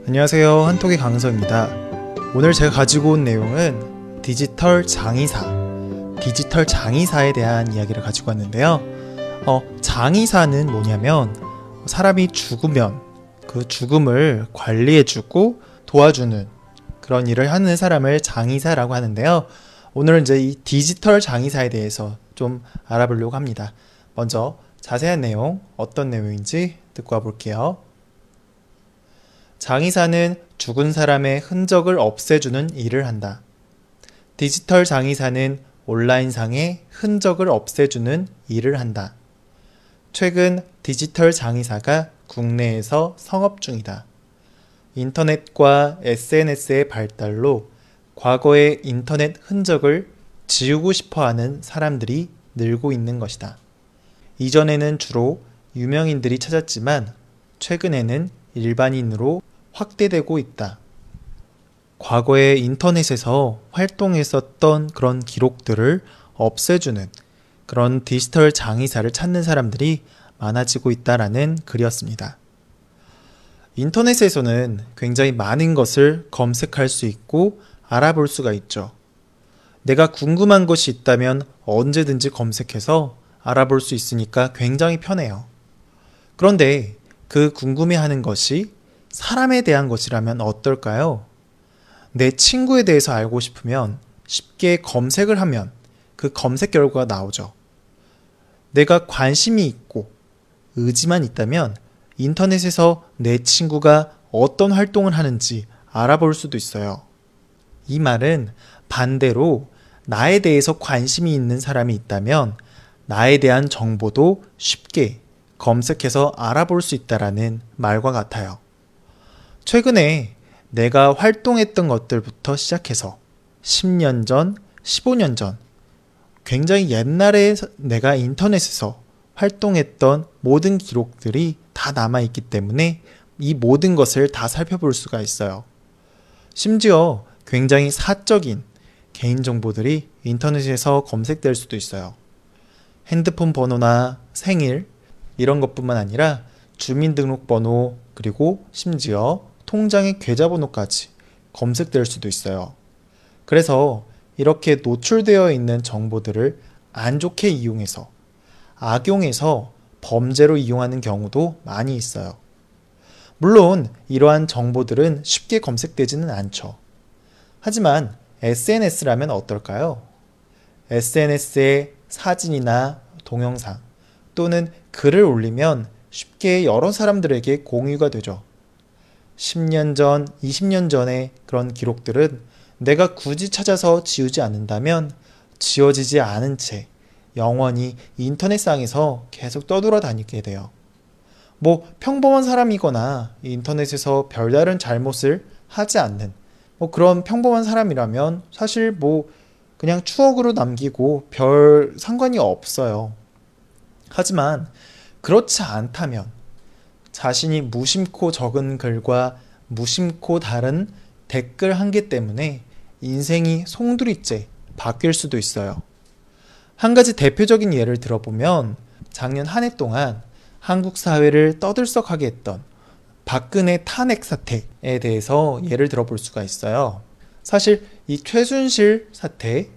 안녕하세요, 한톡의 강서입니다. 오늘 제가 가지고 온 내용은 디지털 장의사에 대한 이야기를 가지고 왔는데요. 장의사는 뭐냐면 사람이 죽으면 그 죽음을 관리해주고 도와주는 그런 일을 하는 사람을 장의사라고 하는데요. 오늘은 이제 이 디지털 장의사에 대해서 좀 알아보려고 합니다. 먼저 자세한 내용, 어떤 내용인지 듣고 와볼게요. 장의사는 죽은 사람의 흔적을 없애주는 일을 한다. 디지털 장의사는 온라인상의 흔적을 없애주는 일을 한다. 최근 디지털 장의사가 국내에서 성업 중이다. 인터넷과 SNS의 발달로 과거의 인터넷 흔적을 지우고 싶어하는 사람들이 늘고 있는 것이다. 이전에는 주로 유명인들이 찾았지만 최근에는 일반인으로 확대되고 있다. 과거에 인터넷에서 활동했었던 그런 기록들을 없애주는 그런 디지털 장의사를 찾는 사람들이 많아지고 있다라는 글이었습니다. 인터넷에서는 굉장히 많은 것을 검색할 수 있고 알아볼 수가 있죠. 내가 궁금한 것이 있다면 언제든지 검색해서 알아볼 수 있으니까 굉장히 편해요. 그런데 그 궁금해하는 것이 사람에 대한 것이라면 어떨까요? 내 친구에 대해서 알고 싶으면 쉽게 검색을 하면 그 검색 결과가 나오죠. 내가 관심이 있고 의지만 있다면 인터넷에서 내 친구가 어떤 활동을 하는지 알아볼 수도 있어요. 이 말은 반대로 나에 대해서 관심이 있는 사람이 있다면 나에 대한 정보도 쉽게 검색해서 알아볼 수 있다라는 말과 같아요. 최근에 내가 활동했던 것들부터 시작해서 10년 전, 15년 전, 굉장히 옛날에 내가 인터넷에서 활동했던 모든 기록들이 다 남아있기 때문에 이 모든 것을 다 살펴볼 수가 있어요. 심지어 굉장히 사적인 개인정보들이 인터넷에서 검색될 수도 있어요. 핸드폰 번호나 생일 이런 것뿐만 아니라 주민등록번호 그리고 심지어 통장의 계좌번호까지 검색될 수도 있어요. 그래서 이렇게 노출되어 있는 정보들을 안 좋게 이용해서 악용해서 범죄로 이용하는 경우도 많이 있어요. 물론 이러한 정보들은 쉽게 검색되지는 않죠. 하지만 SNS라면 어떨까요? SNS에 사진이나 동영상 또는 글을 올리면 쉽게 여러 사람들에게 공유가 되죠. 10년 전, 20년 전의 그런 기록들은 내가 굳이 찾아서 지우지 않는다면 지워지지 않은 채 영원히 인터넷상에서 계속 떠돌아다니게 돼요. 평범한 사람이거나 인터넷에서 별다른 잘못을 하지 않는 그런 평범한 사람이라면 사실 그냥 추억으로 남기고 별 상관이 없어요. 하지만 그렇지 않다면 자신이 무심코 적은 글과 무심코 다른 댓글 한 개 때문에 인생이 송두리째 바뀔 수도 있어요. 한 가지 대표적인 예를 들어보면 작년 한 해 동안 한국 사회를 떠들썩하게 했던 박근혜 탄핵 사태에 대해서 예를 들어볼 수가 있어요. 사실 이 최순실 사태,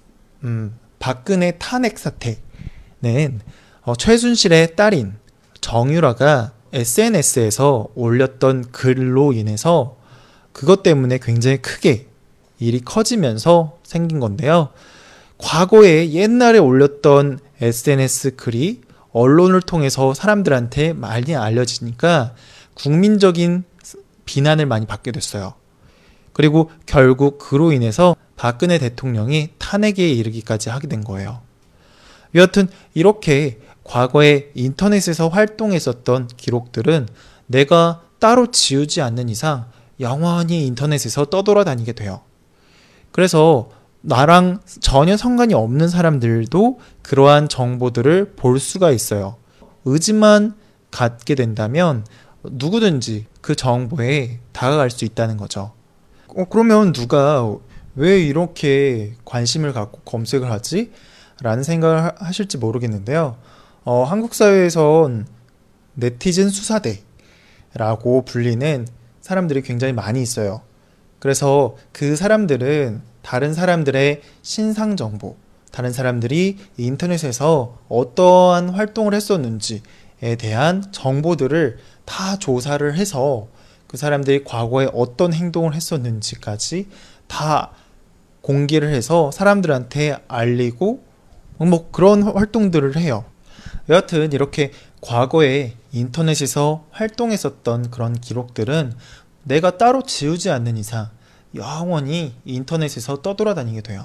박근혜 탄핵 사태는 최순실의 딸인 정유라가 SNS에서 올렸던 글로 인해서 그것 때문에 굉장히 크게 일이 커지면서 생긴 건데요. 과거에 옛날에 올렸던 SNS 글이 언론을 통해서 사람들한테 많이 알려지니까 국민적인 비난을 많이 받게 됐어요. 그리고 결국 그로 인해서 박근혜 대통령이 탄핵에 이르기까지 하게 된 거예요. 여하튼 이렇게 과거에 인터넷에서 활동했었던 기록들은 내가 따로 지우지 않는 이상 영원히 인터넷에서 떠돌아다니게 돼요. 그래서 나랑 전혀 상관이 없는 사람들도 그러한 정보들을 볼 수가 있어요. 의지만 갖게 된다면 누구든지 그 정보에 다가갈 수 있다는 거죠. 그러면 누가 왜 이렇게 관심을 갖고 검색을 하지? 라는 생각을 하실지 모르겠는데요. 한국 사회에선 네티즌 수사대라고 불리는 사람들이 굉장히 많이 있어요. 그래서 그 사람들은 다른 사람들의 신상 정보, 다른 사람들이 인터넷에서 어떠한 활동을 했었는지에 대한 정보들을 다 조사를 해서 그 사람들이 과거에 어떤 행동을 했었는지까지 다 공개를 해서 사람들한테 알리고 뭐 그런 활동들을 해요. 여하튼 이렇게 과거에 인터넷에서 활동했었던 그런 기록들은 내가 따로 지우지 않는 이상 영원히 인터넷에서 떠돌아다니게 돼요.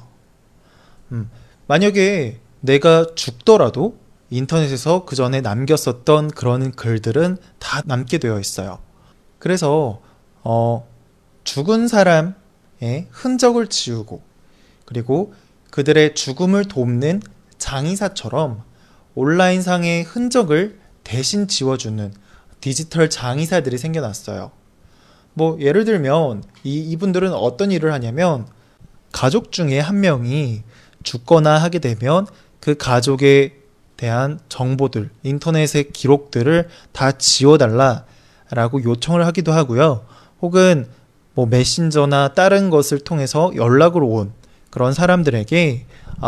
만약에 내가 죽더라도 인터넷에서 그 전에 남겼었던 그런 글들은 다 남게 되어 있어요. 그래서 죽은 사람의 흔적을 지우고 그리고 그들의 죽음을 돕는 장의사처럼 온라인상의 흔적을 대신 지워주는 디지털 장의사들이 생겨났어요. 뭐 예를 들면 이분들은 어떤 일을 하냐면 가족 중에 한 명이 죽거나 하게 되면 그 가족에 대한 정보들, 인터넷의 기록들을 다 지워달라라고 요청을 하기도 하고요. 혹은 뭐 메신저나 다른 것을 통해서 연락으로 온 그런 사람들에게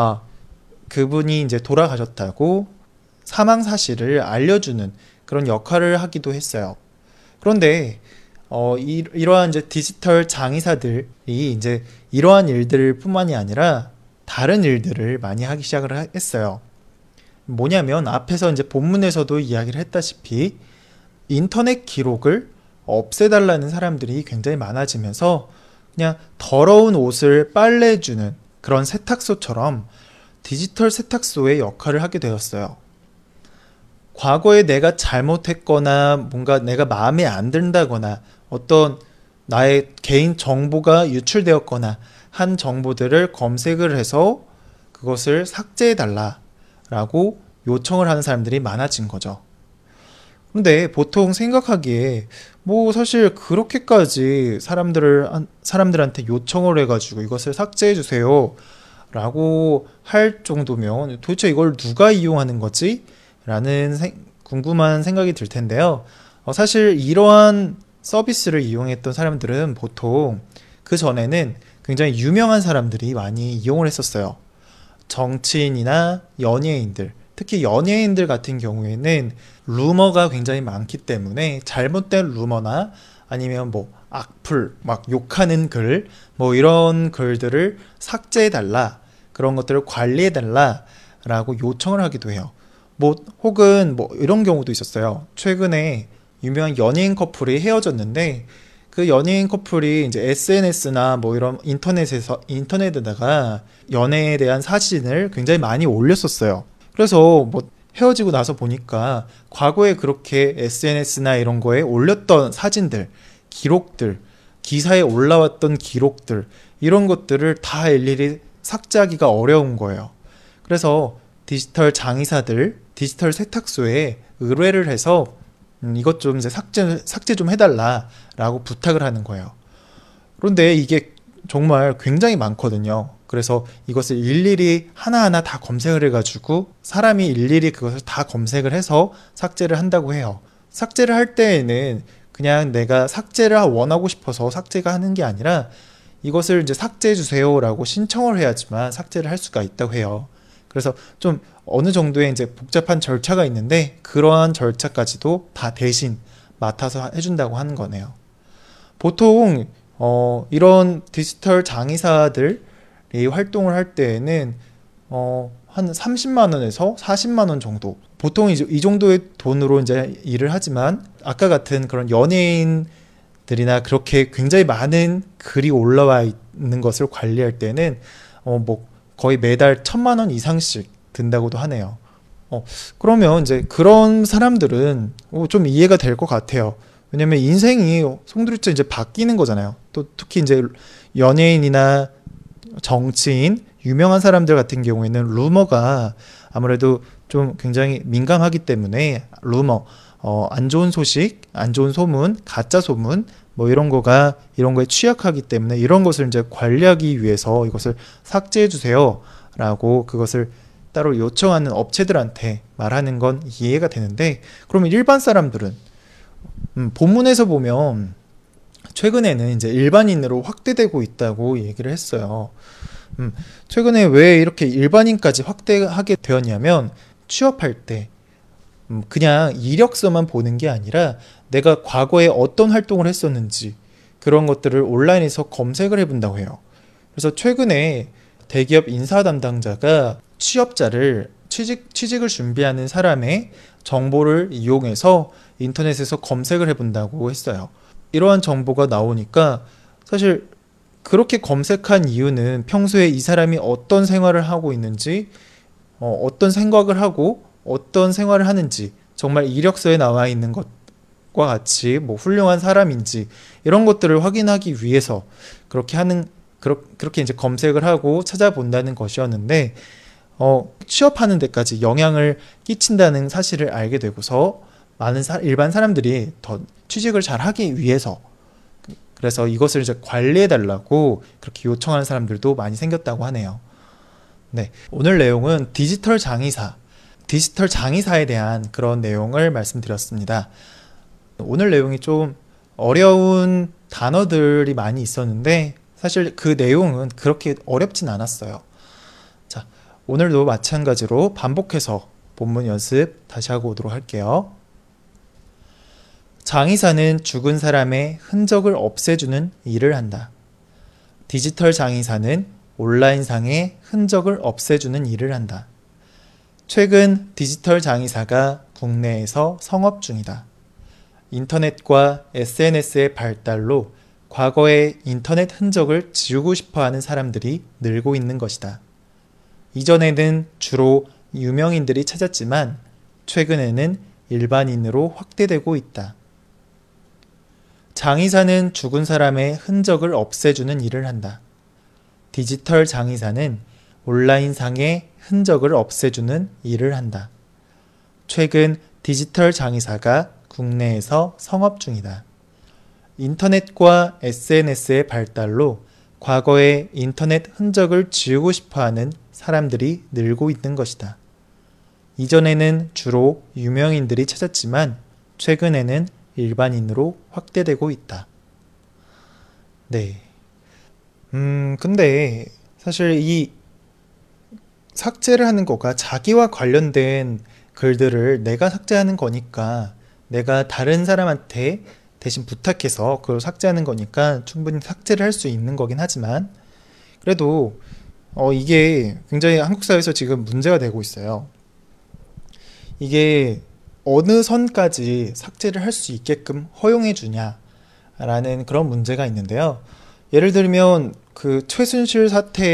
그분이 이제 돌아가셨다고 사망 사실을 알려주는 그런 역할을 하기도 했어요. 그런데 이러한 이제 디지털 장의사들이 이제 이러한 일들 뿐만이 아니라 다른 일들을 많이 하기 시작을 했어요. 뭐냐면 앞에서 이제 본문에서도 이야기를 했다시피 인터넷 기록을 없애달라는 사람들이 굉장히 많아지면서 그냥 더러운 옷을 빨래해주는 그런 세탁소처럼 디지털 세탁소의 역할을 하게 되었어요. 과거에 내가 잘못했거나 뭔가 내가 마음에 안 든다거나 어떤 나의 개인 정보가 유출되었거나 한 정보들을 검색을 해서 그것을 삭제해달라라고 요청을 하는 사람들이 많아진 거죠. 근데 보통 생각하기에 뭐 사실 그렇게까지 사람들한테 요청을 해가지고 이것을 삭제해주세요 라고 할 정도면 도대체 이걸 누가 이용하는 거지? 라는 궁금한 생각이 들 텐데요. 사실 이러한 서비스를 이용했던 사람들은 보통 그 전에는 굉장히 유명한 사람들이 많이 이용을 했었어요. 정치인이나 연예인들, 특히 연예인들 같은 경우에는 루머가 굉장히 많기 때문에 잘못된 루머나 아니면 뭐 악플, 막 욕하는 글, 뭐 이런 글들을 삭제해달라, 그런 것들을 관리해달라 라고 요청을 하기도 해요. 뭐 혹은 뭐 이런 경우도 있었어요. 최근에 유명한 연예인 커플이 헤어졌는데 그 연예인 커플이 이제 SNS나 뭐 이런 인터넷에다가 연애에 대한 사진을 굉장히 많이 올렸었어요. 그래서 뭐 헤어지고 나서 보니까 과거에 그렇게 SNS나 이런 거에 올렸던 사진들, 기록들, 기사에 올라왔던 기록들, 이런 것들을 다 일일이 삭제하기가 어려운 거예요. 그래서 디지털 장의사들, 디지털 세탁소에 의뢰를 해서 이것 좀 이제 삭제 좀 해달라라고 부탁을 하는 거예요. 그런데 이게 정말 굉장히 많거든요. 그래서 이것을 일일이 하나하나 다 검색을 해가지고 사람이 일일이 그것을 다 검색을 해서 삭제를 한다고 해요. 삭제를 할 때에는 그냥 내가 삭제를 원하고 싶어서 삭제가 하는 게 아니라 이것을 이제 삭제해 주세요라고 신청을 해야지만 삭제를 할 수가 있다고 해요. 그래서 좀 어느 정도의 이제 복잡한 절차가 있는데 그러한 절차까지도 다 대신 맡아서 해준다고 하는 거네요. 보통 이런 디지털 장의사들이 활동을 할 때에는 한 30만 원에서 40만 원 정도, 보통 이 정도의 돈으로 이제 일을 하지만 아까 같은 그런 연예인들이나 그렇게 굉장히 많은 글이 올라와 있는 것을 관리할 때는 뭐 거의 매달 1,000만 원 이상씩 든다고도 하네요. 그러면 이제 그런 사람들은 좀 이해가 될 것 같아요. 왜냐면 인생이 송두리째 이제 바뀌는 거잖아요. 또 특히 이제 연예인이나 정치인, 유명한 사람들 같은 경우에는 루머가 아무래도 좀 굉장히 민감하기 때문에 루머, 안 좋은 소식, 안 좋은 소문, 가짜 소문, 뭐 이런 거에 취약하기 때문에 이런 것을 이제 관리하기 위해서 이것을 삭제해 주세요 라고 그것을 따로 요청하는 업체들한테 말하는 건 이해가 되는데, 그러면 일반 사람들은 본문에서 보면 최근에는 이제 일반인으로 확대되고 있다고 얘기를 했어요. 최근에 왜 이렇게 일반인까지 확대하게 되었냐면 취업할 때 그냥 이력서만 보는 게 아니라 내가 과거에 어떤 활동을 했었는지 그런 것들을 온라인에서 검색을 해본다고 해요. 그래서 최근에 대기업 인사 담당자가 취직을 준비하는 사람의 정보를 이용해서 인터넷에서 검색을 해본다고 했어요. 이러한 정보가 나오니까 사실 그렇게 검색한 이유는 평소에 이 사람이 어떤 생활을 하고 있는지, 어떤 생각을 하고 어떤 생활을 하는지, 정말 이력서에 나와 있는 것과 같이 뭐 훌륭한 사람인지 이런 것들을 확인하기 위해서 그렇게 이제 검색을 하고 찾아본다는 것이었는데, 취업하는 데까지 영향을 끼친다는 사실을 알게 되고서 많은 일반 사람들이 더 취직을 잘 하기 위해서, 그래서 이것을 이제 관리해달라고 그렇게 요청하는 사람들도 많이 생겼다고 하네요. 네, 오늘 내용은 디지털 장의사에 대한 그런 내용을 말씀드렸습니다. 오늘 내용이 좀 어려운 단어들이 많이 있었는데 사실 그 내용은 그렇게 어렵진 않았어요. 자, 오늘도 마찬가지로 반복해서 본문 연습 다시 하고 오도록 할게요. 장의사는 죽은 사람의 흔적을 없애주는 일을 한다. 디지털 장의사는 온라인상의 흔적을 없애주는 일을 한다. 최근 디지털 장의사가 국내에서 성업 중이다. 인터넷과 SNS의 발달로 과거의 인터넷 흔적을 지우고 싶어하는 사람들이 늘고 있는 것이다. 이전에는 주로 유명인들이 찾았지만 최근에는 일반인으로 확대되고 있다. 장의사는 죽은 사람의 흔적을 없애주는 일을 한다. 디지털 장의사는 온라인상의 흔적을 없애주는 일을 한다. 최근 디지털 장의사가 국내에서 성업 중이다. 인터넷과 SNS의 발달로 과거의 인터넷 흔적을 지우고 싶어하는 사람들이 늘고 있는 것이다. 이전에는 주로 유명인들이 찾았지만 최근에는 일반인으로 확대되고 있다. 네. 근데 사실 이 삭제를 하는 거가 자기와 관련된 글들을 내가 삭제하는 거니까, 내가 다른 사람한테 대신 부탁해서 그걸 삭제하는 거니까 충분히 삭제를 할 수 있는 거긴 하지만, 그래도 이게 굉장히 한국 사회에서 지금 문제가 되고 있어요. 이게 어느 선까지 삭제를 할 수 있게끔 허용해 주냐라는 그런 문제가 있는데요. 예를 들면 그 최순실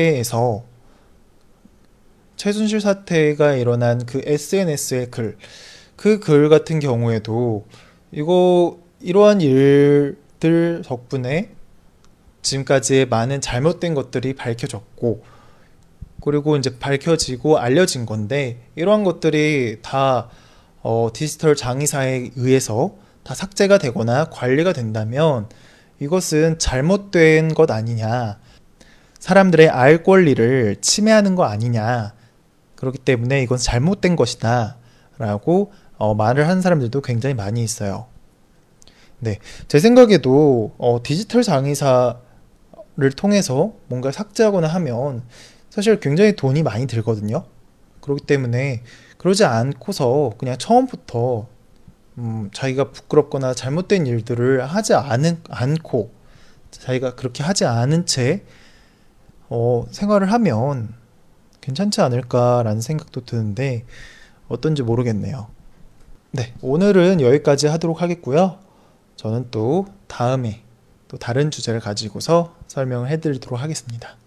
사태가 일어난 그 SNS의 그 글 같은 경우에도 이러한 일들 덕분에 지금까지의 많은 잘못된 것들이 밝혀졌고, 그리고 이제 밝혀지고 알려진 건데, 이러한 것들이 다 디지털 장의사에 의해서 다 삭제가 되거나 관리가 된다면 이것은 잘못된 것 아니냐, 사람들의 알 권리를 침해하는 거 아니냐, 그렇기 때문에 이건 잘못된 것이다 라고 말을 하는 사람들도 굉장히 많이 있어요. 네, 제 생각에도 디지털 장의사를 통해서 뭔가 삭제하거나 하면 사실 굉장히 돈이 많이 들거든요. 그렇기 때문에 그러지 않고서 그냥 처음부터 자기가 부끄럽거나 잘못된 일들을 하지 않고 자기가 그렇게 하지 않은 채 생활을 하면 괜찮지 않을까라는 생각도 드는데 어떤지 모르겠네요. 네, 오늘은 여기까지 하도록 하겠고요. 저는 또 다음에 또 다른 주제를 가지고서 설명을 해드리도록 하겠습니다.